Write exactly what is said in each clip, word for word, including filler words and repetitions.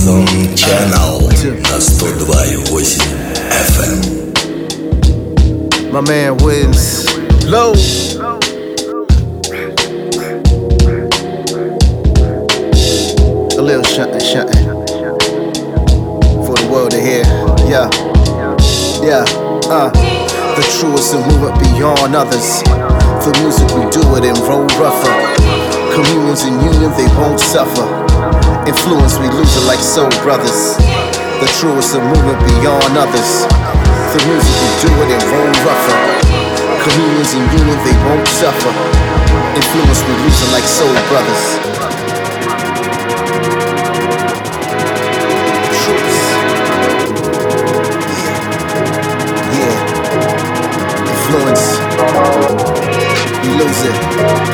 Ozone Channel на сто два и восемь эф эм. My man wins low. A little shuntin', shuntin' for the world to hear. Yeah, yeah, uh. The truest and move it beyond others. For music we do it and roll rougher. Communions in union they won't suffer. Influence we lose it like soul brothers. The truest and move it beyond others. For music we do it and roll rougher. Communions in union they won't suffer. Influence we lose it like soul brothers. Influence, you lose it.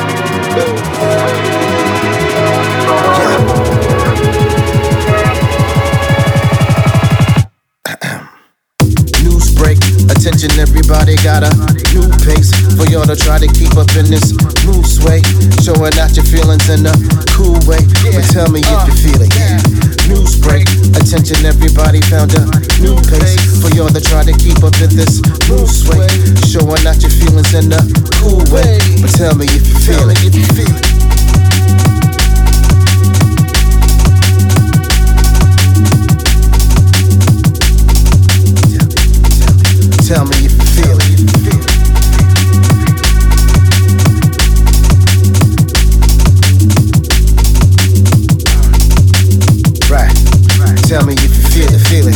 Yeah. News break, attention everybody got a new pace for y'all to try to keep up in this new sway. Showing out your feelings in a cool way, but tell me if you feel it. Yeah. News break, attention everybody found a new pace for y'all to try to keep up in this new sway. Showing out your feelings in a cool way, but tell me if you feel it. If you feel it. Tell me if you feel it. Right. Tell me if you feel it, feel it.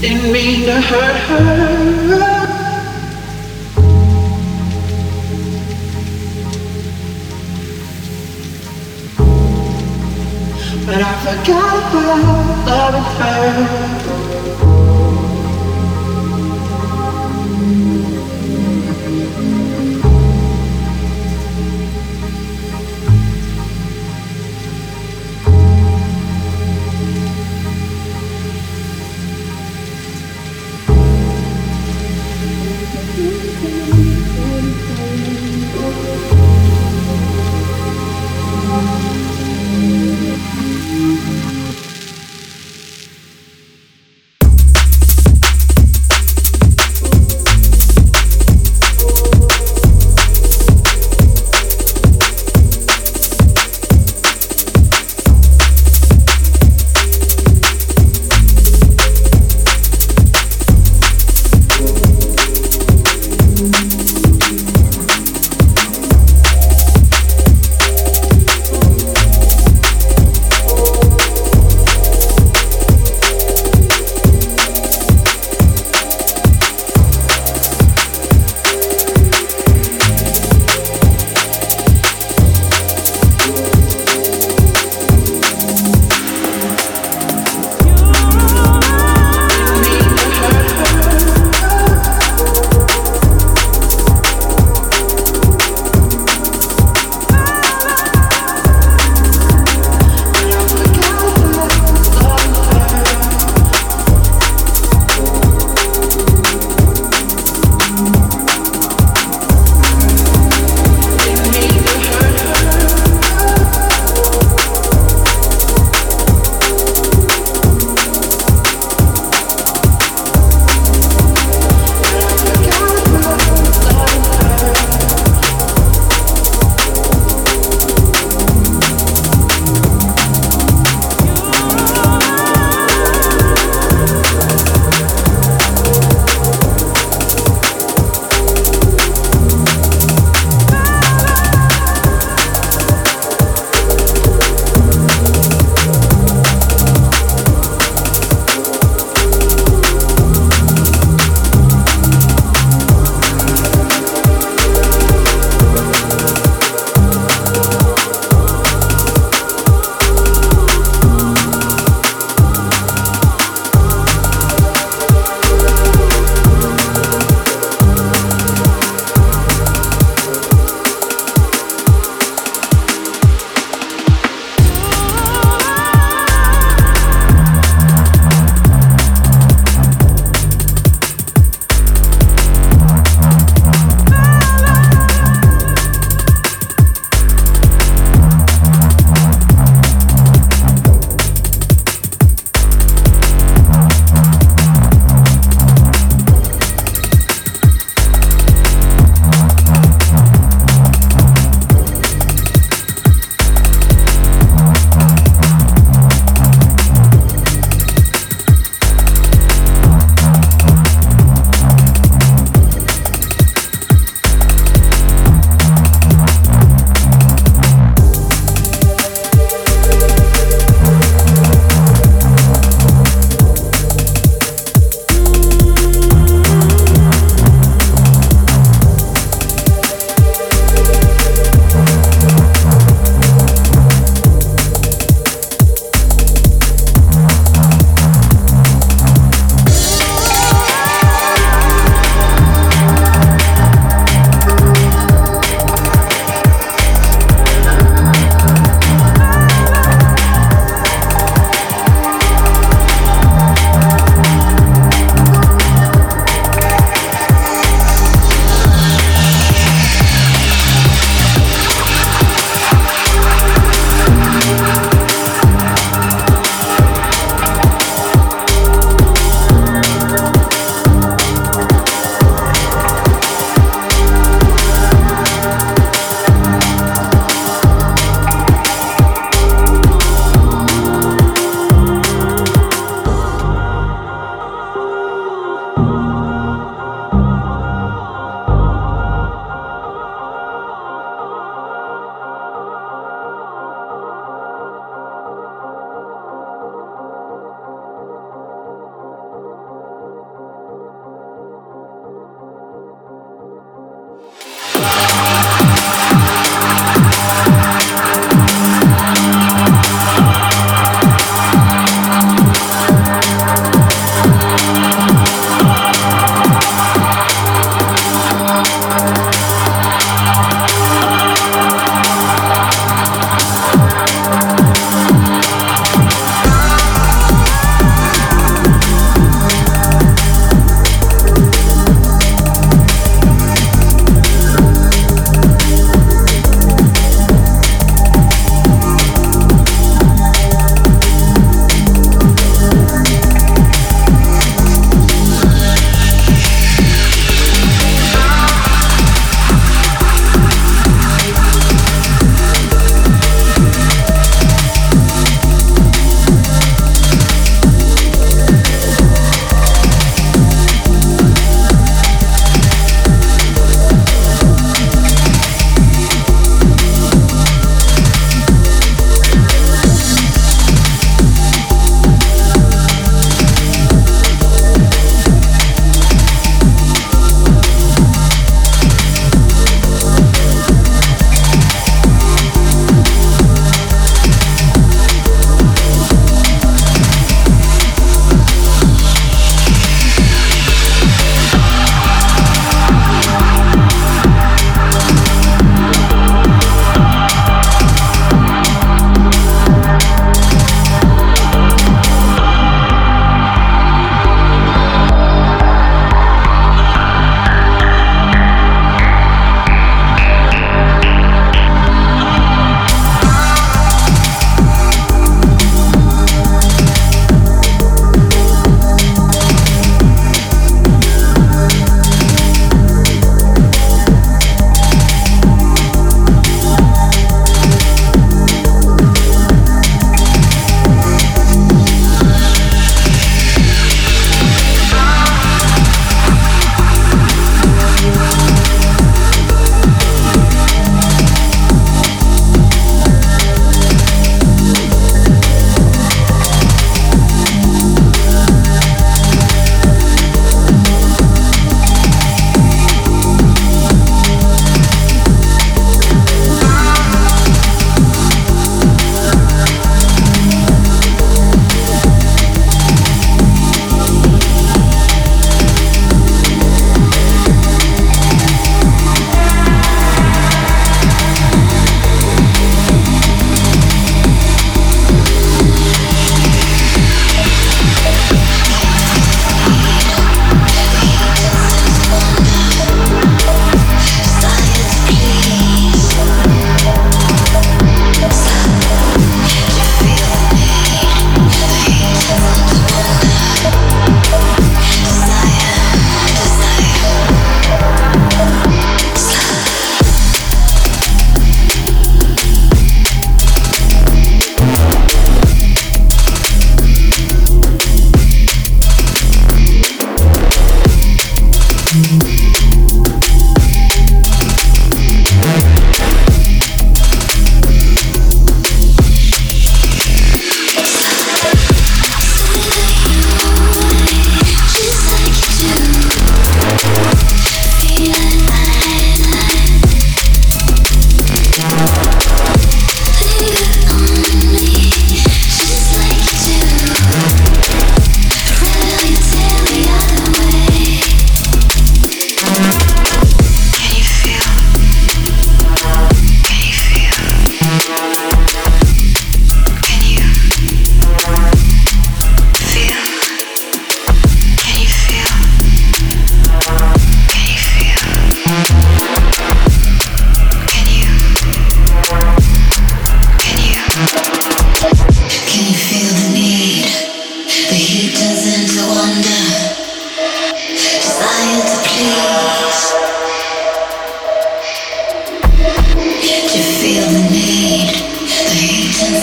Didn't mean to hurt her. But I forgot about loving her.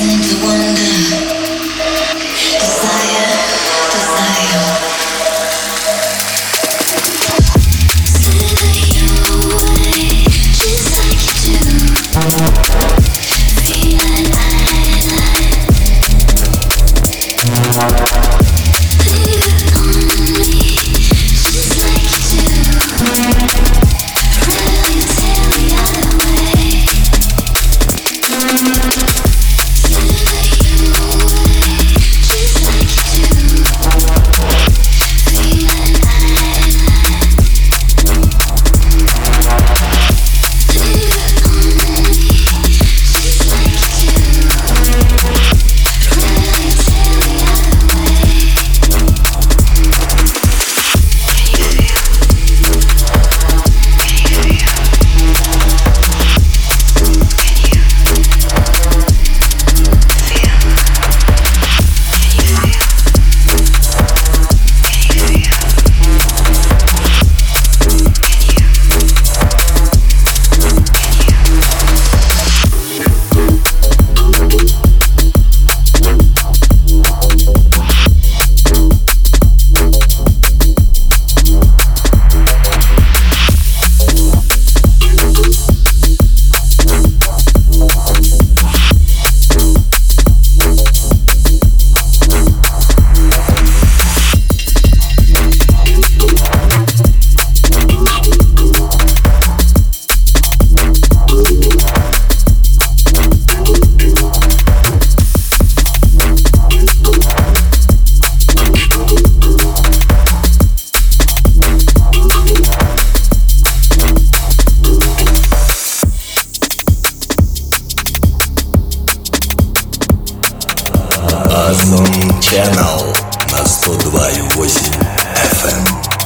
Channel на сто два и восемь эф эм.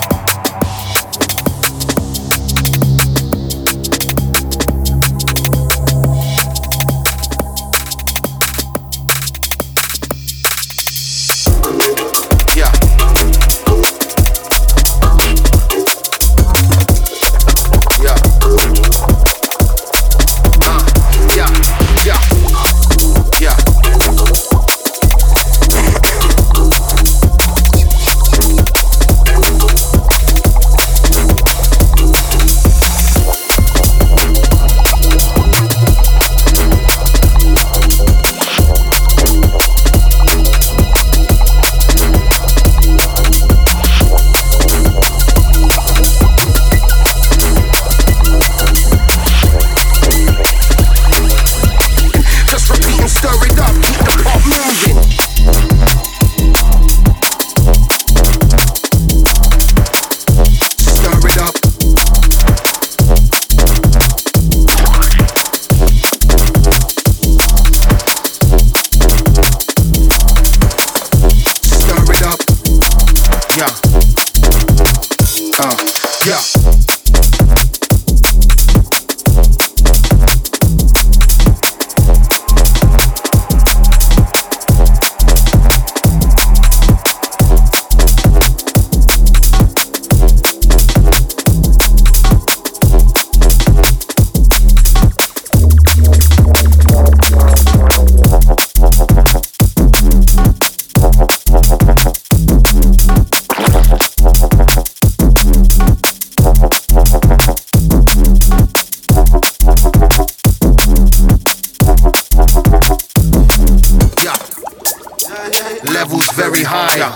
Levels very high. Yeah.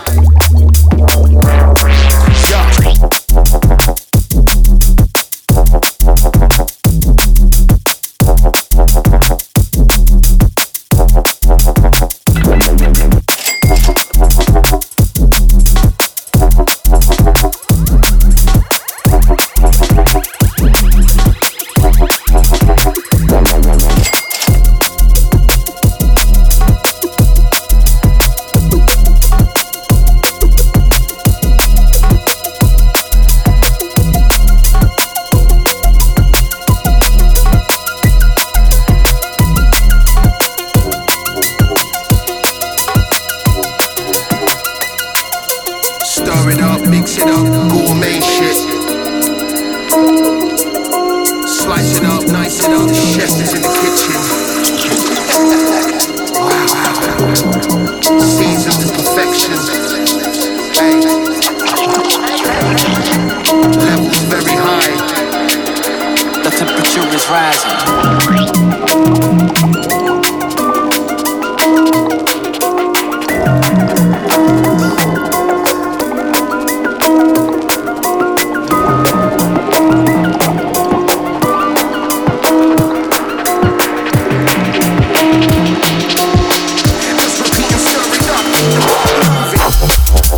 Stir it up, mix it up, gourmet shit. Slice it up, nice it up, the chef is in the kitchen. Wow.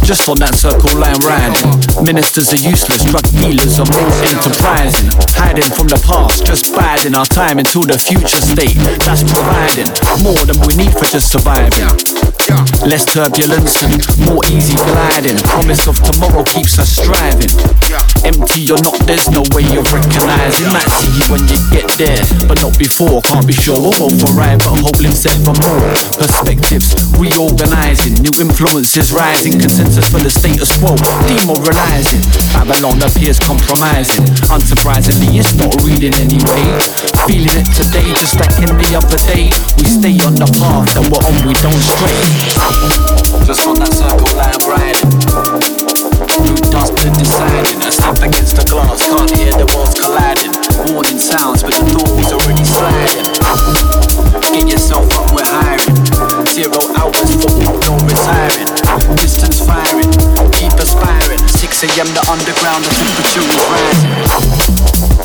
just on that circle line riding. Ministers are useless, drug dealers are more enterprising. Hiding from the past, just biding our time until the future state. That's providing more than we need for just surviving. Less turbulence and more easy gliding. Promise of tomorrow keeps us striving. Empty or not, there's no way of recognizing. Might see you when you get there, but not before. Can't be sure we'll both arrive, but hoping set for more perspectives. Reorganizing, new influences rising. Consensus for the status quo, demoralizing. Babylon appears compromising. Unsurprisingly, it's not reading anyway. Feeling it today, just like in the other day. We stay on the path that we're on, we don't stray. Just on that circle line riding. Through dust and deciding. I step against the glass, can't hear the walls colliding. Warning sounds, but the door's already sliding. Get yourself up, we're hiring. Zero hours for no retiring. Distance firing, keep aspiring. six a.m. the underground, the temperature is rising.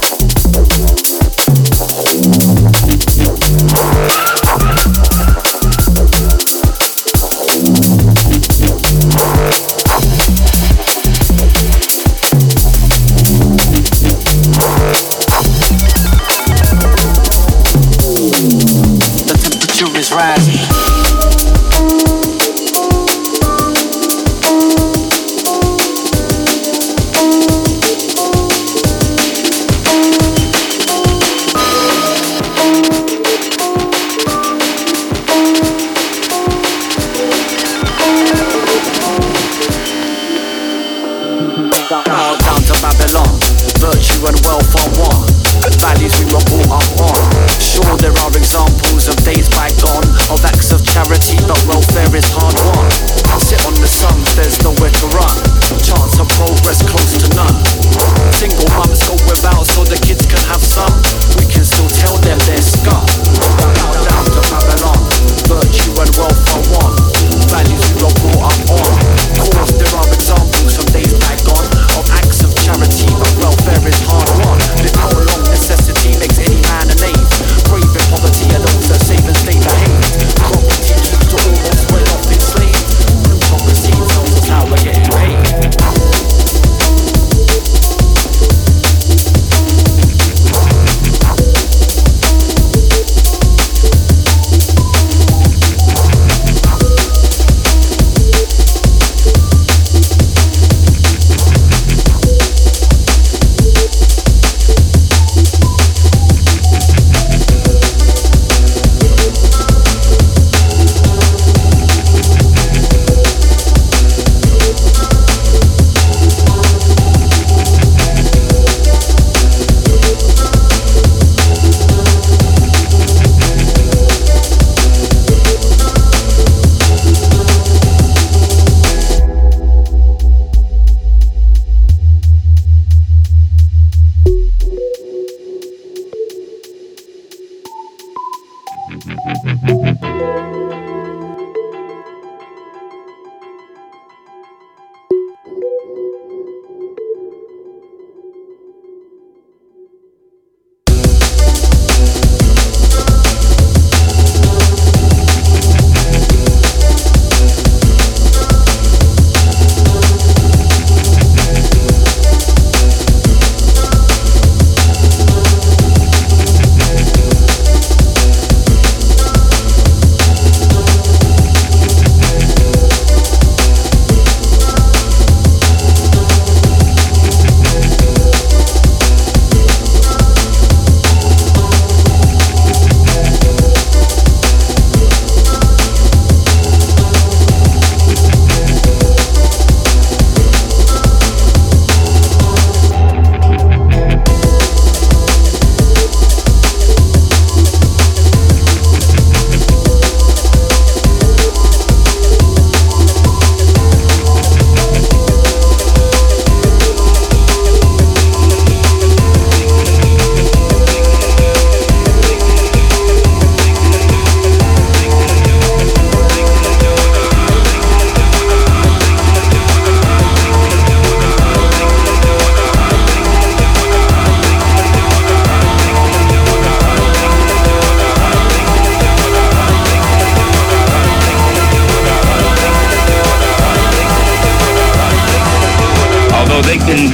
Rising.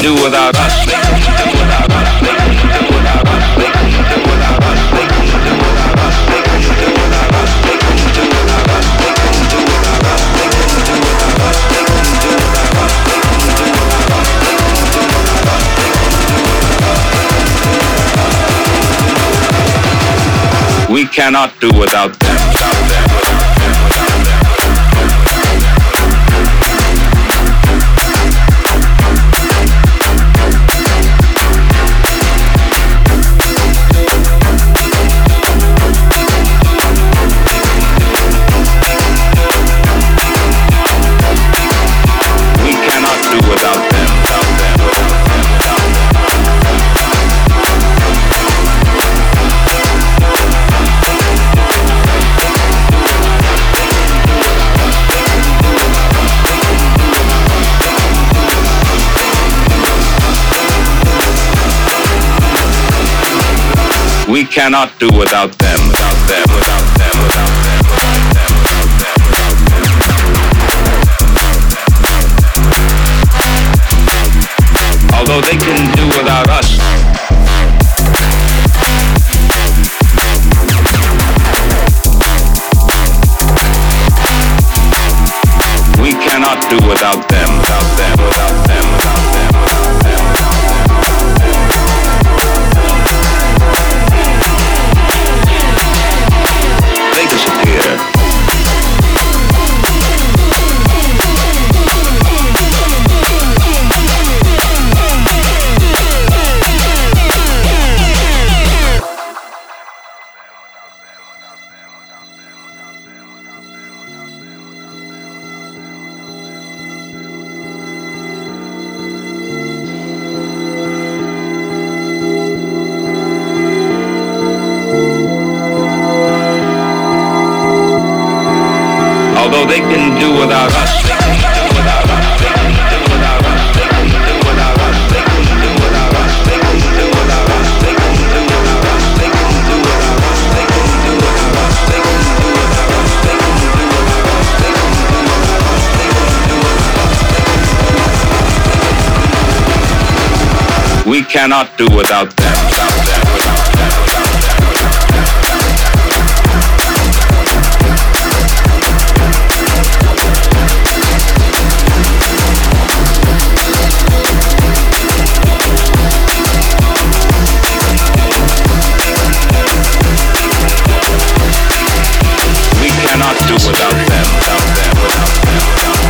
do without us. They can do without us. They can do without us. They can do without us. They can do without us. They can do without us. They can do without us. They can do without us. They can do without us. They can do without us. They can do without us. We cannot do without them. Without them. We cannot do without them, without them, without them, without them, without them, without them. Although they can do without us. We cannot do without them, without them, without them, without them, without them. Although they can do without us, they can do without us, they can do without us, they can do without us, they can do without us, they can do without us, they can do without us, they can do without us, they can do without us, they can do without us, they can do without us, they can do without us, they can do without us. We cannot do without them, without them, without them, without them. Cannot do without them, without them, without them, without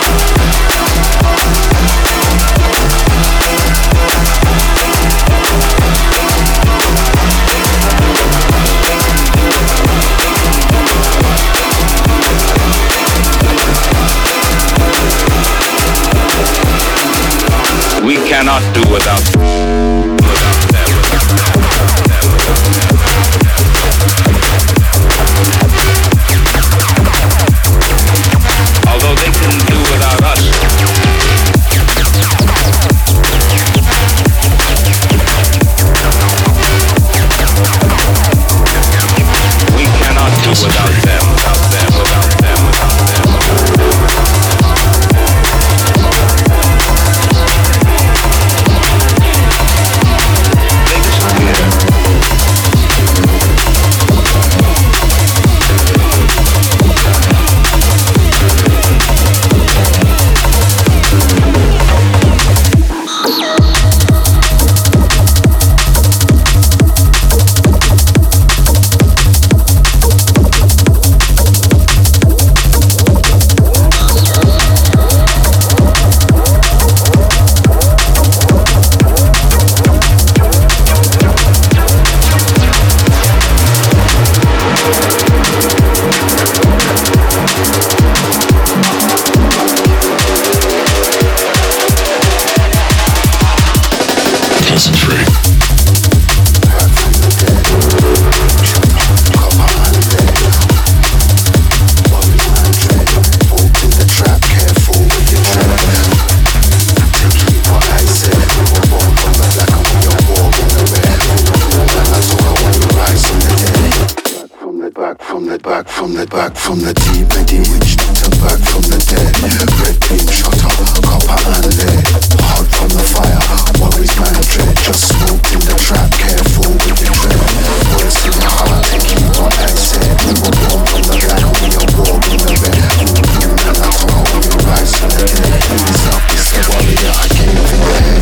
them. We cannot do without them, without them, without them, without them, without them. Although they can do without us. We cannot do without them, without them, without them, without them. dead, back from the deep, medi witch doctor, back from the dead. Red beam shutter, copper and lead. Hot from the fire, worries man dread. Just smoked in the trap, careful with your dread. Words in your heart, taking what I said. We were born from the black, we are born in the red. And I told how we rise from the dead. Ease up, it's the warrior, I came for your head.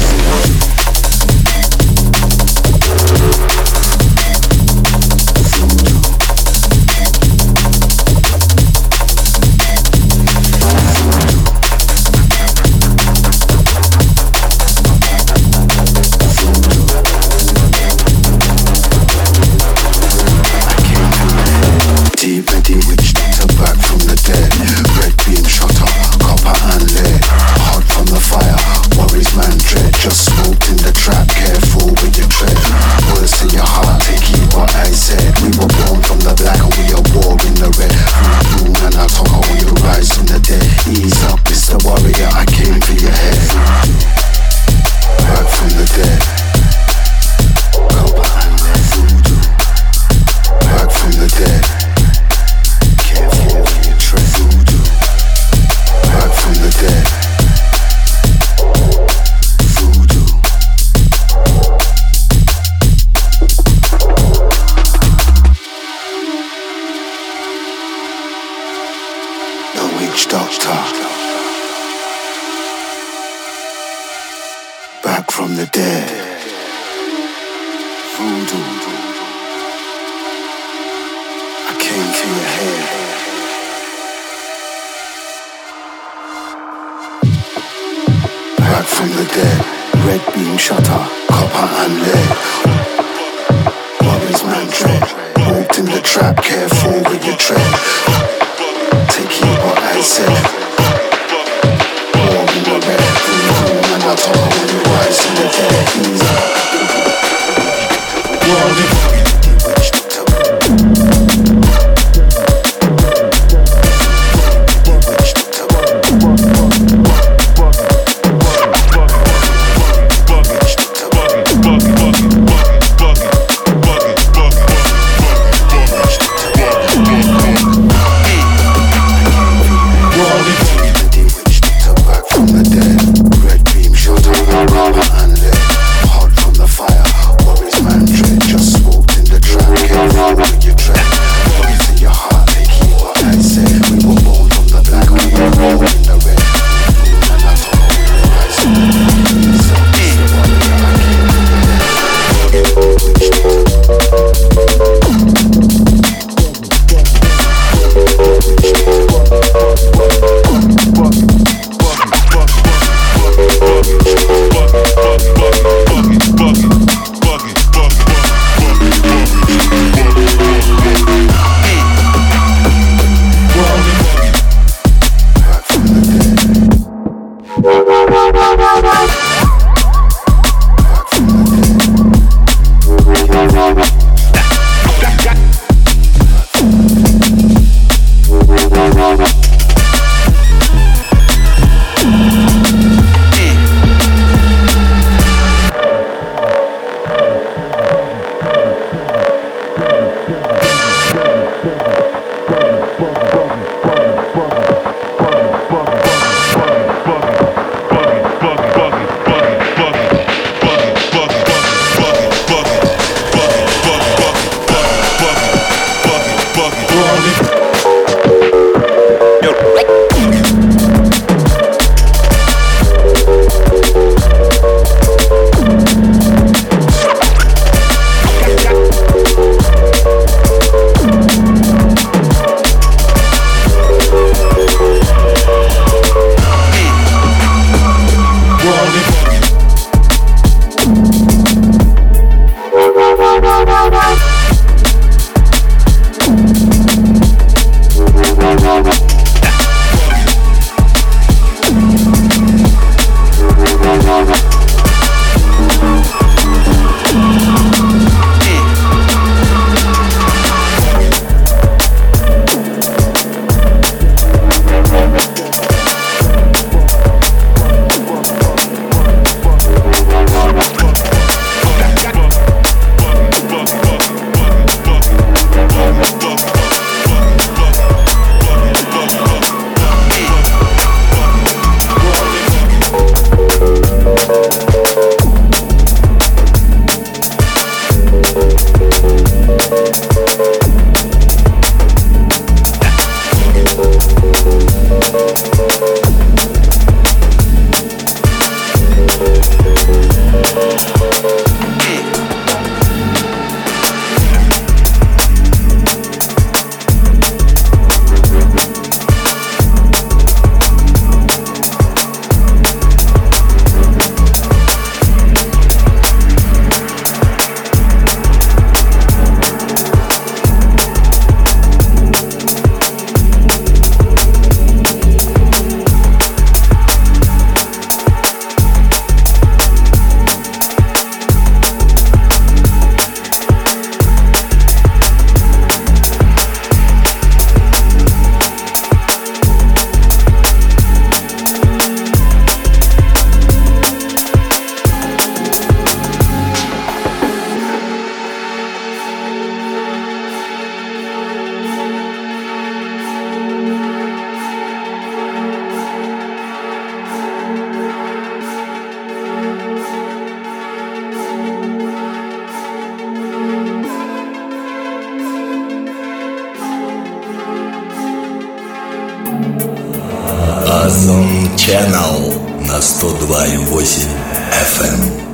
Озон Channel на сто два и восемь эф эм.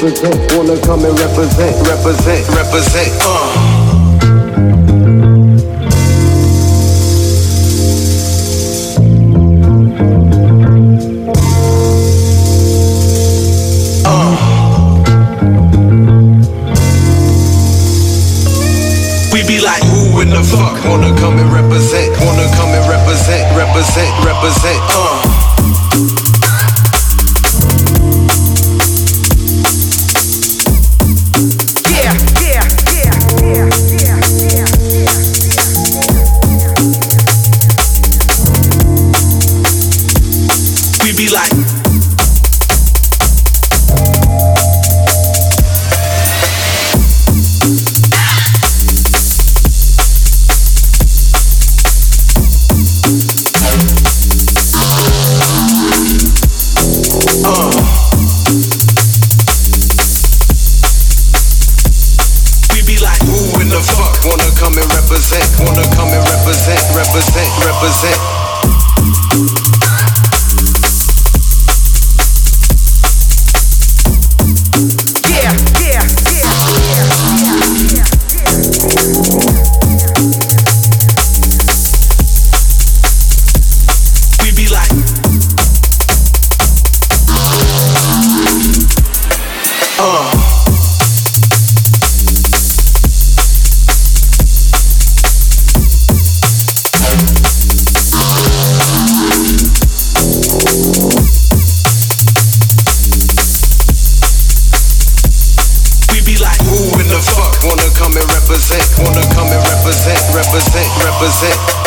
represent, wanna come and represent, represent, represent, uh. In the fuck, wanna come and represent, wanna come and represent, represent, represent, uh. Yeah, yeah, yeah, yeah, yeah, yeah, yeah. We be like wanna come and represent, represent, represent. Yeah, yeah, yeah, yeah, yeah, yeah. We be like, uh. Wanna come and represent, wanna come and represent, represent, represent.